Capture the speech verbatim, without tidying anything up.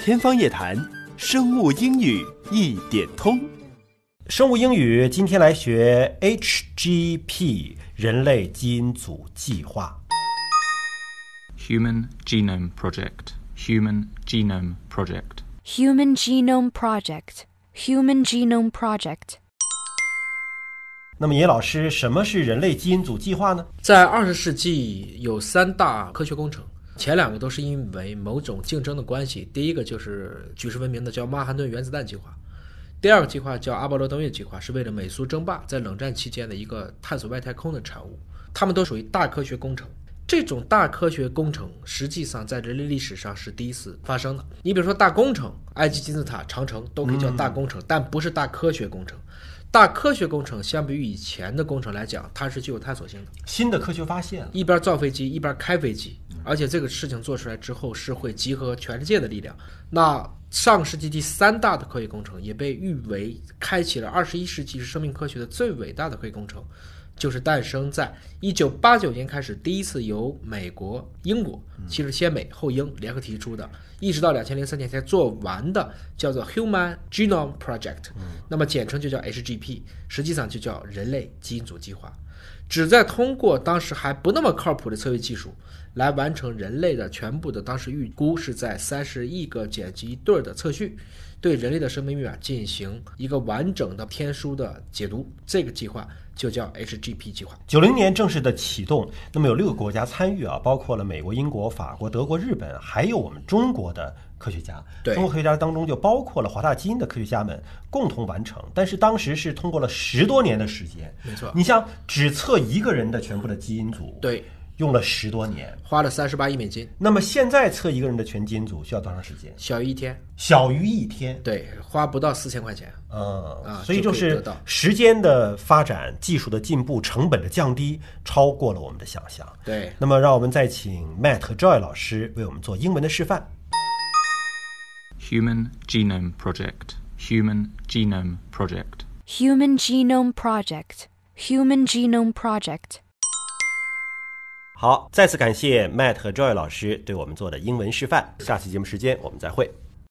天方夜谭，生物英语一点通。 生物英语今天来学 H G P 人类基因组计划。 Human Genome Project Human Genome Project Human Genome Project Human Genome Project。 那么野老师，什么是人类基因组计划呢？ 在二十世纪有三大科学工程，前两个都是因为某种竞争的关系。第一个就是举世闻名的叫曼哈顿原子弹计划，第二个计划叫阿波罗登月计划，是为了美苏争霸在冷战期间的一个探索外太空的产物。它们都属于大科学工程。这种大科学工程实际上在人类历史上是第一次发生的。你比如说大工程，埃及金字塔、长城都可以叫大工程，嗯、但不是大科学工程。大科学工程相比于以前的工程来讲，它是具有探索性的， 新的科学发现， 一边造飞机一边开飞机，而且这个事情做出来之后是会集合全世界的力量。那上世纪第三大的科学工程也被誉为开启了二十一世纪生命科学的最伟大的科学工程，就是诞生在一九八九年开始，第一次由美国、英国，其实先美后英联合提出的，一直到两千零三年才做完的，叫做 Human Genome Project，那么简称就叫 H G P， 实际上就叫人类基因组计划，旨在通过当时还不那么靠谱的测绘技术，来完成人类的全部的当时预估是在三十亿个碱基对的测序，对人类的生命密码进行一个完整的天书的解读。这个计划就叫 H G P 计划。 九零年正式的启动，那么有六个国家参与啊，包括了美国、英国、法国、德国、日本，还有我们中国的科学家。 对， 中国科学家当中就包括了华大基因的科学家们共同完成，但是当时是通过了十多年的时间。 没错， 你像只测一个人的全部的基因组， 对， 用了十多年， 花了三十八亿美金。 那么现在测一个人的全基因组需要多长时间？ 小于一天。 小于一天， 对，花不到四千块钱。 嗯啊， 所以就是时间的发展、技术的进步、成本的降低，超过了我们的想象。 对， 那么让我们再请 Matt 和 Joy 老师为我们做英文的示范。 Human Genome Project Human Genome Project Human Genome Project Human Genome Project。 好，再次感谢 Matt 和 Joy 老师对我们做的英文示范。下期节目时间我们再会。